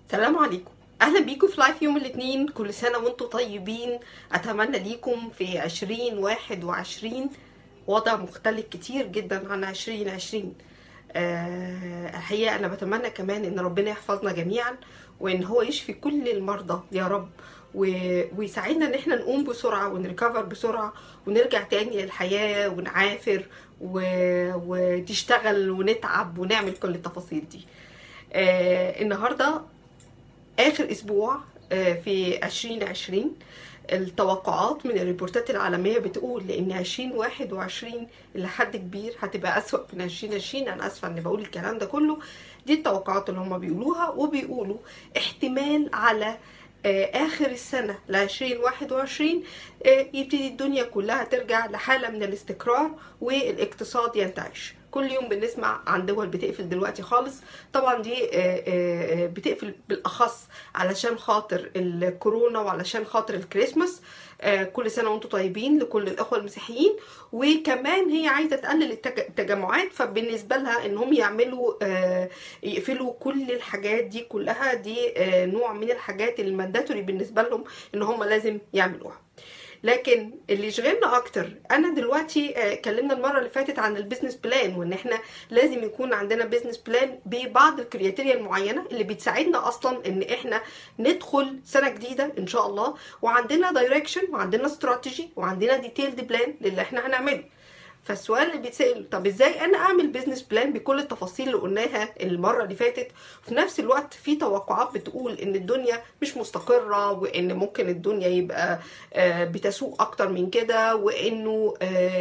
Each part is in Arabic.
السلام عليكم. اهلا بيكم في لايف يوم الاثنين. كل سنه وانتم طيبين. اتمنى ليكم في 2021 وضع مختلف كتير جدا عن 2020. الحقيقه انا بتمنى كمان ان ربنا يحفظنا جميعا، وان هو يشفي كل المرضى يا رب، ويساعدنا ان احنا نقوم بسرعه ونريكفر بسرعه ونرجع تاني للحياه ونعافر ونشتغل ونتعب ونعمل كل التفاصيل دي. النهارده اخر اسبوع في 2020. التوقعات من الريبورتات العالميه بتقول ان 2021 لحد كبير هتبقى اسوأ من 2020. انا اسفه اني بقول الكلام ده كله، دي التوقعات اللي هم بيقولوها، وبيقولوا احتمال على اخر السنه ل 2021 يبتدي الدنيا كلها ترجع لحاله من الاستقرار والاقتصاد ينتعش. كل يوم بنسمع عن دول بتقفل دلوقتي خالص. طبعا دي بتقفل بالاخص علشان خاطر الكورونا وعلشان خاطر الكريسماس. كل سنه وانتم طيبين لكل الاخوه المسيحيين. وكمان هي عايزه تقلل التجمعات، فبالنسبه لها انهم يقفلوا كل الحاجات دي كلها. دي نوع من الحاجات المانداتوري بالنسبه لهم ان هم لازم يعملوها. لكن اللي يشغلنا اكتر، انا دلوقتي اتكلمنا المره اللي فاتت عن البيزنس بلان، وان احنا لازم يكون عندنا بيزنس بلان ببعض الكرياتيريا المعينه اللي بتساعدنا اصلا ان احنا ندخل سنه جديده ان شاء الله، وعندنا دايركشن وعندنا استراتيجي وعندنا ديتيلد بلان للي احنا هنعمله. فالسؤال اللي بيتسأل، طب ازاي انا اعمل بيزنس بلان بكل التفاصيل اللي قلناها المره اللي فاتت، وفي نفس الوقت في توقعات بتقول ان الدنيا مش مستقره، وان ممكن الدنيا يبقى بتسوء اكتر من كده، وانه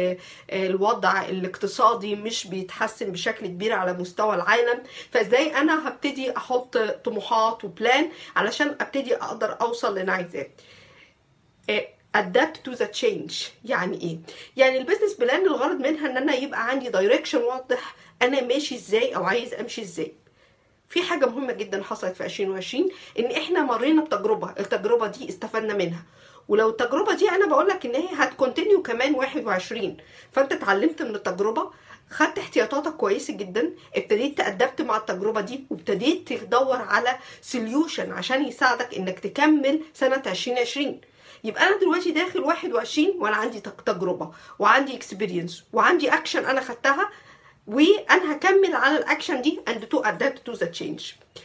الوضع الاقتصادي مش بيتحسن بشكل كبير على مستوى العالم. فازاي انا هبتدي احط طموحات وبلان علشان ابتدي اقدر اوصل اللي انا عايزاه؟ adapt to the change. يعني ايه؟ يعني البيزنس بلان الغرض منها ان انا يبقى عندي دايركشن واضح انا ماشي ازاي او عايز امشي ازاي. في حاجه مهمه جدا حصلت في 2020، ان احنا مرينا بتجربه، التجربه دي استفدنا منها، ولو التجربه دي انا بقول لك ان هي هتكونتينيو كمان 21. فانت اتعلمت من التجربه، خدت احتياطاتك كويسه جدا، ابتديت تأدبت مع التجربه دي، وابتديت تدور على سوليوشن عشان يساعدك انك تكمل سنه 2020. يبقى انا دلوقتي داخل 21 وانا عندي تجربه وعندي اكسبيرينس وعندي اكشن انا خدتها، وانا هكمل على الاكشن دي and to adapt to the change.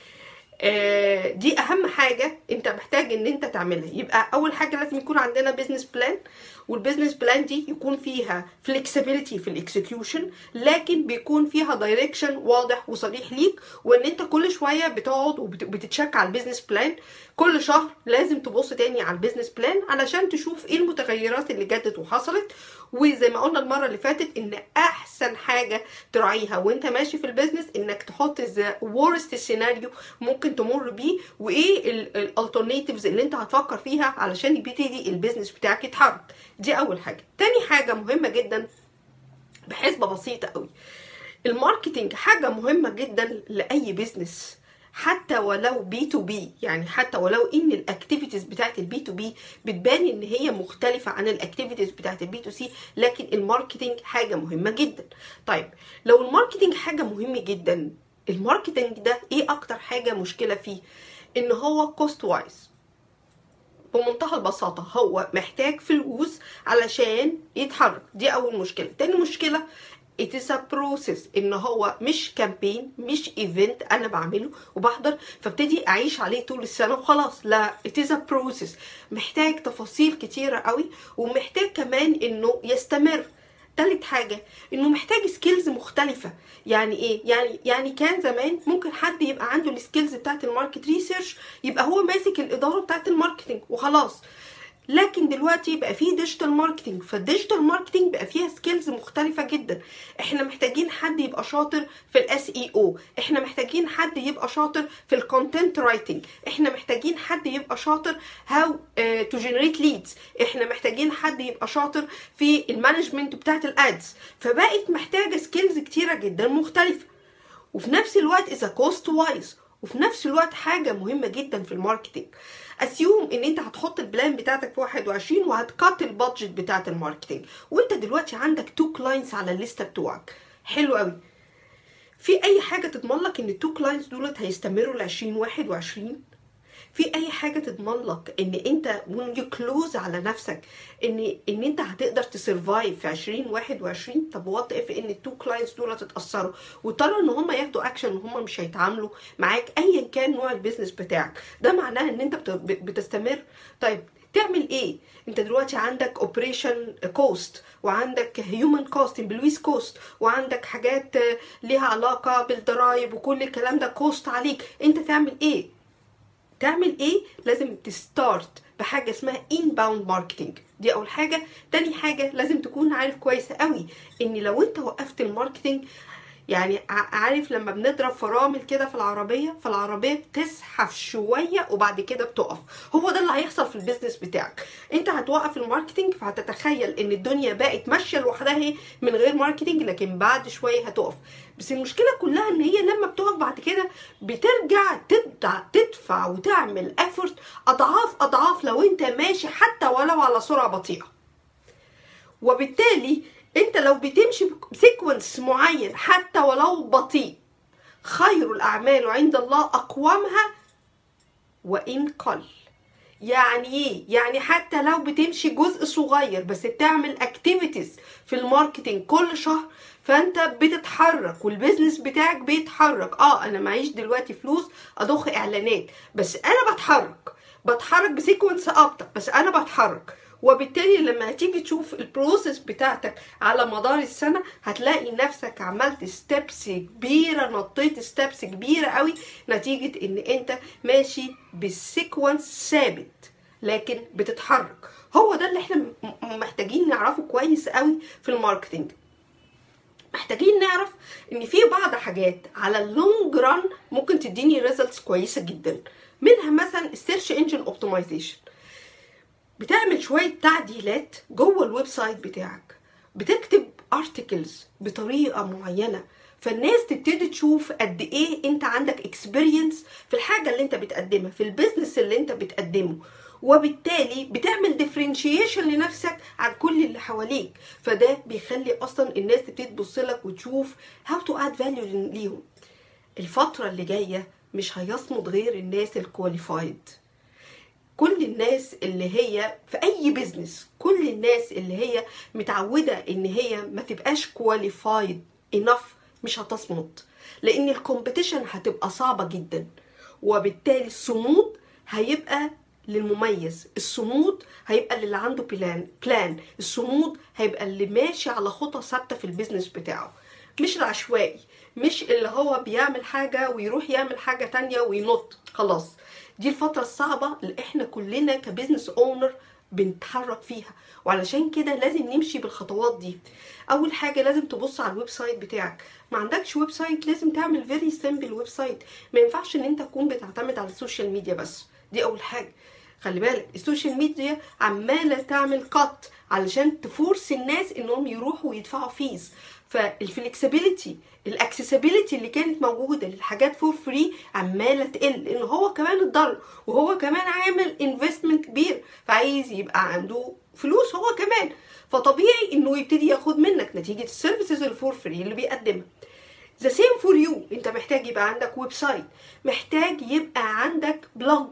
دي اهم حاجه انت محتاج ان انت تعملها. يبقى اول حاجه لازم يكون عندنا بيزنس بلان، والبيزنس بلان دي يكون فيها فليكسيبيليتي في الاكسكيوشن، لكن بيكون فيها دايركشن واضح وصريح ليك، وان انت كل شويه بتقعد وبتتشك على البيزنس بلان. كل شهر لازم تبص تاني على البيزنس بلان علشان تشوف ايه المتغيرات اللي جدت وحصلت. وزي ما قلنا المره اللي فاتت، ان احسن حاجه تراعيها وانت ماشي في البيزنس انك تحط ذا worst سيناريو ممكن تمر بيه، وايه الالترناتيفز اللي انت هتفكر فيها علشان يبتدي البيزنس بتاعك يتحرك. دي اول حاجه. تاني حاجه مهمه جدا بحسبه بسيطه قوي، الماركتينج حاجه مهمه جدا لاي بيزنس، حتى ولو بي تو بي. يعني حتى ولو ان الاكتيفيتيز بتاعت البي تو بي بتبان ان هي مختلفه عن الاكتيفيتيز بتاعت البي تو سي، لكن الماركتينج حاجه مهمه جدا. طيب لو الماركتينج حاجه مهمه جدا، الماركتينج ده ايه اكتر حاجه مشكله فيه؟ ان هو كوست وايز. بمنتهى البساطه هو محتاج فلوس علشان يتحرك. دي اول مشكله. تاني مشكله it is a process، ان هو مش كامبين، مش ايفنت انا بعمله وبحضر فابتدي اعيش عليه طول السنه وخلاص. لا، it is a process، محتاج تفاصيل كتيره قوي، ومحتاج كمان انه يستمر. تالت حاجه انه محتاج سكيلز مختلفه. يعني ايه؟ يعني كان زمان ممكن حد يبقى عنده السكيلز بتاعت الماركت ريسيرش، يبقى هو ماسك الاداره بتاعت الماركتنج وخلاص. لكن دلوقتي بقى فيه ديجيتال ماركتنج، فالديجيتال ماركتنج بقى فيها سكيلز مختلفه جدا. احنا محتاجين حد يبقى شاطر في الاس اي او، احنا محتاجين حد يبقى شاطر في الكونتنت رايتنج، احنا محتاجين حد يبقى شاطر هاو تو جنريت ليدز، احنا محتاجين حد يبقى شاطر في المانجمنت بتاعت الادز. فبقت محتاجه سكيلز كتيره جدا مختلفه، وفي نفس الوقت اذا كوست وايز، وفي نفس الوقت حاجه مهمه جدا في الماركتنج. اسيوم ان انت هتحط البلان بتاعتك في 21 وهتقات البادجت بتاعت الماركتنج، وانت دلوقتي عندك 2 كلاينتس على الليسته بتوعك. حلو قوي. في اي حاجه تضمن لك ان ال2 كلاينتس دولت هيستمروا ل 2021؟ في اي حاجه تضمن لك ان انت when you close على نفسك ان انت هتقدر تسرفايف في 2021؟ طب وات اف ان التو كلاينتس دول اتاثروا واضطروا ان هم ياخدوا اكشن وهم مش هيتعاملوا معاك ايا كان نوع البيزنس بتاعك، ده معناه ان انت بتستمر؟ طيب تعمل ايه؟ انت دلوقتي عندك اوبريشن كوست، وعندك هيومن كوست، امبلويز كوست، وعندك حاجات ليها علاقه بالضرايب وكل الكلام ده كوست عليك. انت تعمل ايه؟ لازم تستارت بحاجه اسمها inbound marketing. دي اول حاجه. تاني حاجه لازم تكون عارف كويس قوي ان لو انت وقفت الماركتينج، يعني عارف لما بنضرب فرامل كده في العربيه بتزحف شويه وبعد كده بتقف، هو ده اللي هيحصل في البيزنس بتاعك. انت هتوقف الماركتينج فهتتخيل ان الدنيا بقت ماشيه لوحدها من غير ماركتينج، لكن بعد شويه هتقف. بس المشكله كلها ان هي لما بتقف بعد كده بترجع تدفع وتعمل افورت اضعاف لو انت ماشي حتى ولو على سرعه بطيئه. وبالتالي انت لو بتمشي بسيكونس معين حتى ولو بطيء، خير الاعمال عند الله اقومها وان قل. يعني ايه؟ يعني حتى لو بتمشي جزء صغير بس بتعمل اكتيفيتيز في الماركتينج كل شهر، فانت بتتحرك والبيزنس بتاعك بيتحرك. انا معيش دلوقتي فلوس اضخ اعلانات، بس انا بتحرك بسيكونس ابطأ، بس انا بتحرك. وبالتالي لما هتيجي تشوف البروسيس بتاعتك على مدار السنة هتلاقي نفسك عملت ستيبس كبيرة، نطيت ستيبس كبيرة قوي، نتيجة ان انت ماشي بالسيكونس ثابت لكن بتتحرك. هو ده اللي احنا محتاجين نعرفه كويس قوي في الماركتينج. محتاجين نعرف ان في بعض حاجات على اللونج ران ممكن تديني ريزلتس كويسة جدا، منها مثلا السيرش انجن اوبتمايزيشن. بتعمل شوية تعديلات جوه الويب سايت بتاعك، بتكتب ارتكلز بطريقة معينة، فالناس تبتدي تشوف قد ايه انت عندك اكسبيرينس في الحاجة اللي انت بتقدمها، في البيزنس اللي انت بتقدمه، وبالتالي بتعمل ديفرنشيشن لنفسك عن كل اللي حواليك. فده بيخلي اصلا الناس تبتدي تبص لك وتشوف how to add value ليهم. الفترة اللي جاية مش هيصمد غير الناس الكواليفايد. كل الناس اللي هي في اي بيزنس، كل الناس اللي هي متعودة ان هي ما تبقاش كواليفايد انف مش هتصمد، لان الكومبيتيشن هتبقى صعبة جدا. وبالتالي الصمود هيبقى للمميز، الصمود هيبقى اللي عنده بلان، الصمود هيبقى اللي ماشي على خطى ثابته في البيزنس بتاعه، مش العشوائي، مش اللي هو بيعمل حاجه ويروح يعمل حاجه تانية وينط خلاص. دي الفتره الصعبه اللي احنا كلنا كبزنس اونر بنتحرك فيها، وعلشان كده لازم نمشي بالخطوات دي. اول حاجه لازم تبص على الويب سايت بتاعك. ما عندكش ويب سايت لازم تعمل فيري سيمبل ويب سايت. ما ينفعش ان انت تكون بتعتمد على السوشيال ميديا بس، دي اول حاجه. خلي بالك السوشيال ميديا عماله تعمل كات علشان تفورس الناس انهم يروحوا ويدفعوا فيز. فالفلكسبيليتي الاكسسبيليتي اللي كانت موجوده للحاجات فور فري عماله تقل، لان هو كمان اتضرر وهو كمان عامل انفستمنت كبير، فعايز يبقى عنده فلوس هو كمان، فطبيعي انه يبتدي ياخد منك نتيجه السيرفيسز الفور فري اللي بيقدمها. The same for you. انت محتاج يبقى عندك ويب سايت، محتاج يبقى عندك بلوج.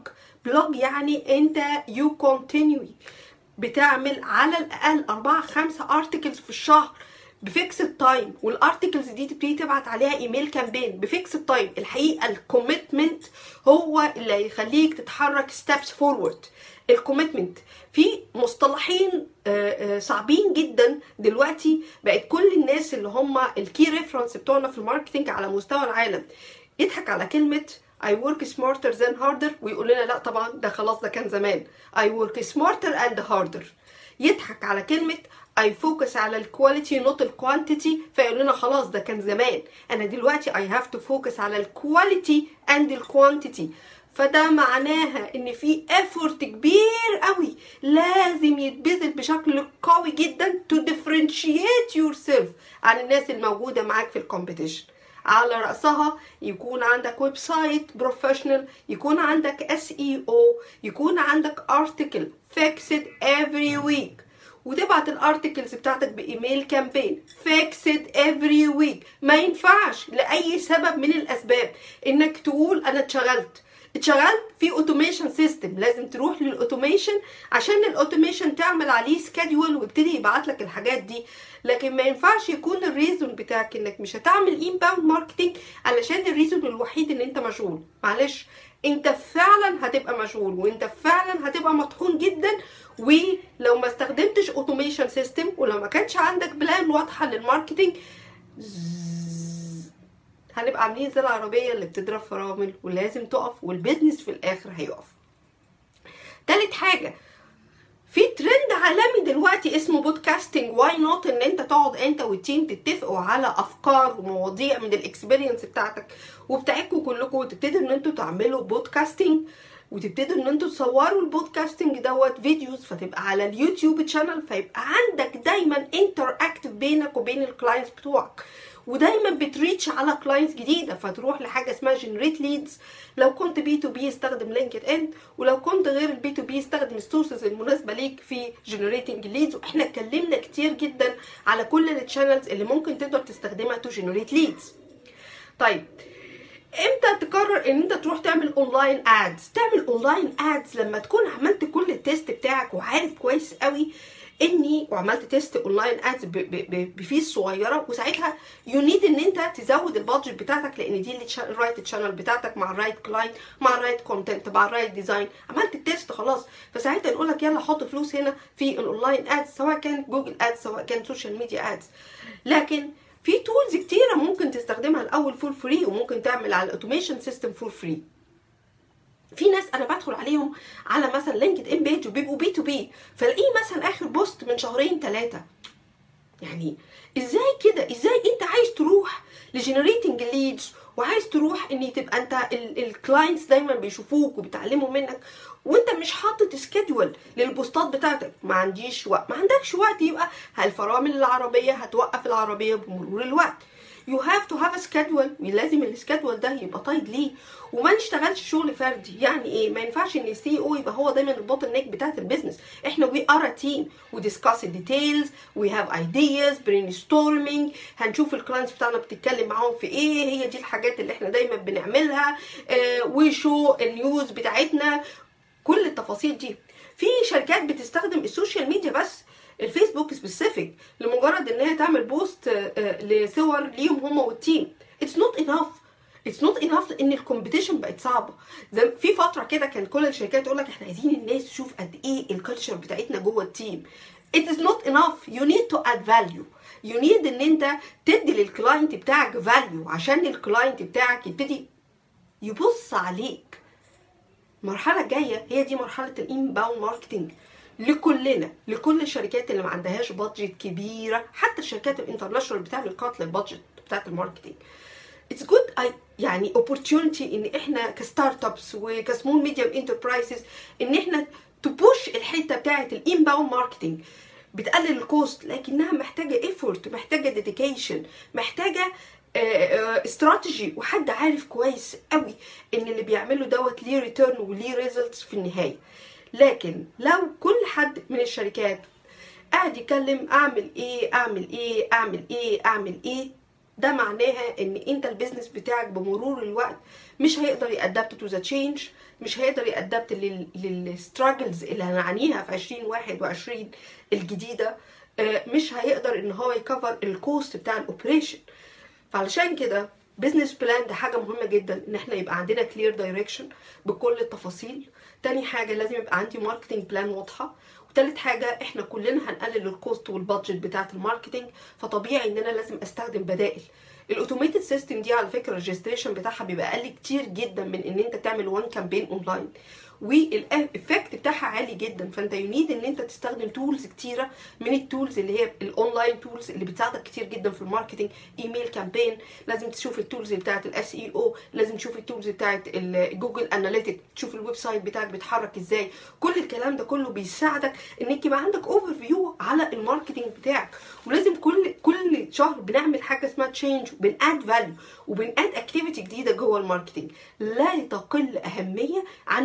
يعني انت you continue بتعمل على الاقل 4-5 ارتكلز في الشهر بفيكسد تايم، والارتكلز دي تبتدي تبعت عليها ايميل كامبين بفيكسد تايم. الحقيقه الكوميتمنت هو اللي هيخليك تتحرك ستيبس فورورد. الكوميتمنت في مصطلحين صعبين جدا دلوقتي، بقت كل الناس اللي هم الكي ريفرنس بتوعنا في الماركتنج على مستوى العالم يضحك على كلمه I work smarter than harder ويقول لنا لا طبعا ده خلاص ده كان زمان. I work smarter and harder. يضحك على كلمة I focus على الكواليتي not الكوانتيتي فيقول لنا خلاص ده كان زمان. أنا دلوقتي I have to focus على الكواليتي and الكوانتيتي. فده معناها ان في effort كبير قوي لازم يتبذل بشكل قوي جدا to differentiate yourself عن الناس الموجودة معاك في الكومبيتيشن. على رأسها يكون عندك ويب سايت بروفيشنال، يكون عندك SEO، يكون عندك ارتكل فيكسد every week، وتبعت الارتكلز بتاعتك بايميل كامبين فيكسد every week. ما ينفعش لأي سبب من الأسباب انك تقول انا اتشغلت، اتشغلت في اوتوميشن سيستم، لازم تروح للاوتوميشن عشان الاوتوميشن تعمل عليه سكادول ويبتدي يبعت لك الحاجات دي. لكن ما ينفعش يكون الريزون بتاعك انك مش هتعمل انباوند ماركتنج علشان الريزون الوحيد ان انت مشغول. معلش، انت فعلا هتبقى مشغول، وانت فعلا هتبقى مطحون جدا، ولو ما استخدمتش اوتوميشن سيستم، ولو ما كانش عندك بلان واضحه للماركتنج، هنبقى عاملين زي العربيه اللي بتضرب فرامل ولازم تقف، والبيزنس في الاخر هيقف. تالت حاجه، في ترند عالمي دلوقتي اسمه بودكاستنج. واي نوت ان انت تقعد انت والتيم تتفقوا على افكار ومواضيع من الاكسبيرينس بتاعتك وبتاعتكم كلكم، وتبتدوا ان انتوا تعملوا بودكاستنج، وتبتدوا ان انتوا تصوروا البودكاستنج دوت فيديوز، فتبقى على اليوتيوب تشانل، فيبقى عندك دايما انتر اكتف بينك وبين الكلاينتس بتوعك، ودايما بتريتش على كلاينتس جديده، فتروح لحاجه اسمها جنريت ليدز. لو كنت بي تو بي استخدم لينكد ان، ولو كنت غير البي تو بي استخدم السورسز المناسبه ليك في جنريتنج ليدز. واحنا اتكلمنا كتير جدا على كل التشانلز اللي ممكن تقدر تستخدمها تو جنريت ليدز. طيب، امتى تقرر ان انت تروح تعمل اونلاين ادز؟ تعمل اونلاين ادز لما تكون عملت كل التيست بتاعك وعارف كويس قوي وعملت تيست اونلاين ادز بفيس صغيره، وساعتها يو نيد ان انت تزود البادجت بتاعتك، لان دي الرايت تشانل بتاعتك مع الرايت كلاينت مع الرايت كونتنت مع الرايت ديزاين. عملت التيست خلاص، فساعتها نقول لك يلا حط فلوس هنا في الاونلاين ادز، سواء كان جوجل ادز سواء كان سوشيال ميديا ادز. لكن في تولز كتيره ممكن تستخدمها الاول فور فري، وممكن تعمل على الاوتوميشن سيستم فور فري. في ناس انا بدخل عليهم على مثلا لينكد ان بيج وبيبقوا بي تو بي، فلاقيه مثلا اخر بوست من 2-3 شهور. يعني ازاي كده؟ ازاي انت عايز تروح لجنريتنج ليدز وعايز تروح ان تبقى انت الكلاينتس دايما بيشوفوك وبيتعلموا منك، وانت مش حاطط سكيدول للبوستات بتاعتك؟ ما عنديش وقت. ما عندكش وقت، يبقى الفرامل العربيه هتوقف العربيه بمرور الوقت. you have to have a schedule، ولازم السكادول ده يبقى طايد ليه، وما نشتغلش شغل فردي. يعني ايه؟ ما ينفعش ان السي او يبقى هو دايما البوتل نيك بتاعت البيزنس. احنا we are a team، we discuss the details، we have ideas، brainstorming، هنشوف الكلاينتس بتاعنا بتتكلم معاهم في ايه، هي دي الحاجات اللي احنا دايما بنعملها، وشو النيوز بتاعتنا، كل التفاصيل دي. في شركات بتستخدم السوشيال ميديا بس، الفيسبوك سبيسيفيك، لمجرد ان هي تعمل بوست لصور ليهم هم والتيم. اتس نوت انف لان الكومبيتيشن بقت صعبه. في فتره كده كان كل الشركات تقول لك احنا عايزين الناس تشوف قد ايه الكالتشر بتاعتنا جوه التيم. it is not enough، you need to add value، you need ان انت تدي للكلاينت بتاعك value عشان الكلاينت بتاعك يبتدي يبص عليك. المرحله الجايه هي دي مرحله الانباوند ماركتنج لكلنا، لكل الشركات اللي ما عندهاش بادجت كبيره، حتى الشركات الانترناشونال بتعمل كات للبادجت بتاعت الماركتنج. اتس جود يعني opportunity ان احنا كستارت ابس وكسمول ميديوم انتربرايزز ان احنا تبوش الحته بتاعت الانباوند ماركتنج. بتقلل الكوست، لكنها محتاجه ايفورت، محتاجه ديديكيشن، محتاجه استراتيجي، وحد عارف كويس قوي ان اللي بيعمله دوت ليه ريتيرن وليه ريزلتس في النهايه. لكن لو كل حد من الشركات قاعد يتكلم اعمل ايه اعمل ايه اعمل ايه اعمل ايه، ده معناها ان انت البيزنس بتاعك بمرور الوقت مش هيقدر يأدبت تو ذا تشينج، مش هيقدر يأدبت للستراجلز اللي هنعانيها في 2021 الجديده، مش هيقدر ان هو يكفر الكوست بتاع الاوبريشن. فعلشان كده بيزنس بلان ده حاجه مهمه جدا، ان احنا يبقى عندنا كلير دايركشن بكل التفاصيل. تاني حاجه لازم يبقى عندي ماركتنج بلان واضحه. وتالت حاجه احنا كلنا هنقلل الكوست والبادجت بتاعه الماركتنج، فطبيعي ان انا لازم استخدم بدائل. الاوتوميتد سيستم دي على فكره الريجستريشن بتاعها بيبقى اقل كتير جدا من ان انت تعمل وان كامبين اونلاين، والافكت بتاعها عالي جدا. فانت ينيد ان انت تستخدم تولز كتيره من التولز اللي هي الاونلاين تولز اللي بتساعدك كتير جدا في الماركتنج. ايميل كامبين، لازم تشوف التولز بتاعه الاس اي او، لازم تشوف التولز بتاعه جوجل اناليتيك، تشوف الويب سايت بتاعك بيتحرك ازاي. كل الكلام ده كله بيساعدك انك يبقى عندك اوفر فيو على الماركتنج بتاعك. ولازم كل شهر بنعمل حاجه اسمها تشينج، وبناد فاليو، وبناد اكتيفيتي جديده جوه الماركتنج لا تقل اهميه عن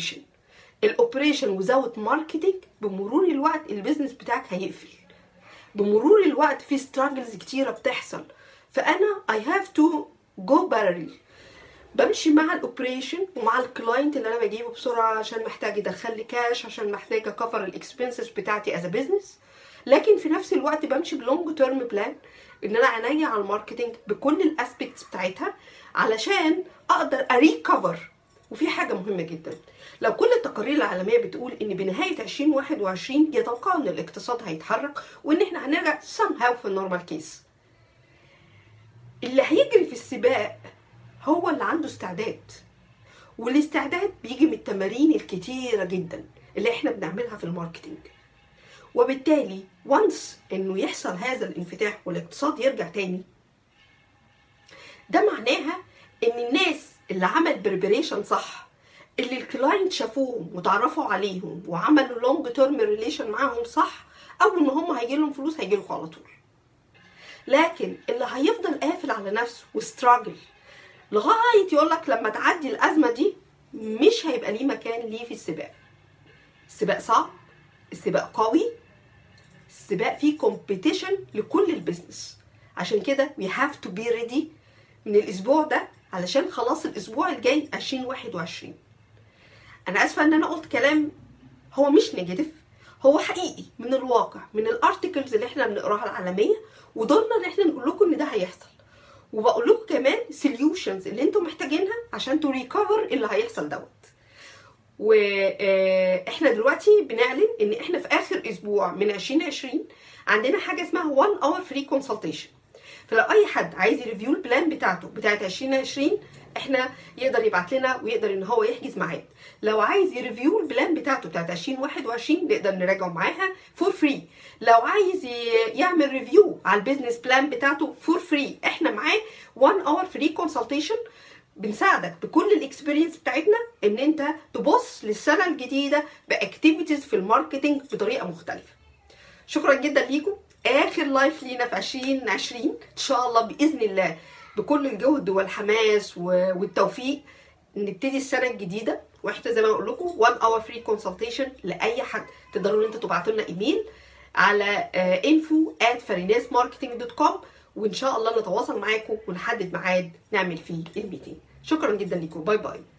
الاوبريشن وزاوت ماركتنج. بمرور الوقت البيزنس بتاعك هيقفل، بمرور الوقت في ستراجلز كتيره بتحصل. فانا I have to go parallel بمشي مع الاوبريشن ومع الكلاينت اللي انا بجيبه بسرعه عشان محتاج يدخل لي كاش، عشان محتاج اكفر الاكسبنسز بتاعتي از بزنس. لكن في نفس الوقت بمشي بلونج تيرم بلان، ان انا عينيا على الماركتنج بكل الاسبيكتس بتاعتها علشان اقدر اريكفر. وفي حاجه مهمه جدا، لو كل التقارير العالميه بتقول ان بنهايه 2021 يتوقعوا ان الاقتصاد هيتحرك وان احنا هنرجع somehow في النورمال كيس، اللي هيجري في السباق هو اللي عنده استعداد. والاستعداد بيجي من التمارين الكتيره جدا اللي احنا بنعملها في الماركتنج. وبالتالي وانس انه يحصل هذا الانفتاح والاقتصاد يرجع تاني، ده معناها ان الناس اللي عمل بريبريشن صح، اللي الكلاينت شافوهم وتعرفوا عليهم وعملوا لونج تيرم ريليشن معاهم صح، اول ما هم هيجي لهم فلوس هيجي لكم على طول. لكن اللي هيفضل قافل على نفسه وستراجل لغايه يقول لك لما تعدي الازمه دي، مش هيبقى ليه مكان ليه في السباق. السباق صعب، السباق قوي، السباق فيه كومبيتيشن لكل البيزنس. عشان كده we have to be ready من الاسبوع ده، علشان خلاص الاسبوع الجاي 2021. انا اسفه ان انا قلت كلام هو مش نيجاتيف، هو حقيقي من الواقع، من الارتكلز اللي احنا بنقراها العالميه، ودورنا ان احنا نقول لكم ان ده هيحصل. وبقول لكم كمان سوليوشنز اللي انتم محتاجينها عشان تو ريكفر اللي هيحصل دوت. واحنا دلوقتي بنعلن ان احنا في اخر اسبوع من 2020 عندنا حاجه اسمها 1 اور فري كونسلتيشن. فلو اي حد عايز يريفيو البلان بتاعته بتاعت 2020، احنا يقدر يبعت لنا ويقدر ان هو يحجز ميعاد. لو عايز يريفيو البلان بتاعته بتاعت 2021 نقدر نراجعه معاها فور فري. لو عايز يعمل ريفيو على البيزنس بلان بتاعته فور فري، احنا معاه 1 اور فري كونسلتيشن. بنساعدك بكل الاكسبيرينس بتاعتنا ان انت تبص للسنه الجديده باكتيفيتيز في الماركتنج بطريقه مختلفه. شكرا جدا ليكم. اخر لايف لينا في 2020 ان شاء الله باذن الله بكل الجهد والحماس والتوفيق نبتدي السنه الجديده. واحنا زي ما بقول لكم 1 اور فري كونسلتيشن لاي حد. تقدروا ان انتوا تبعتوا لنا ايميل على info@farinasmarketing.com، وان شاء الله نتواصل معاكم ونحدد ميعاد نعمل فيه الميتنج. شكرا جدا لكم. باي باي.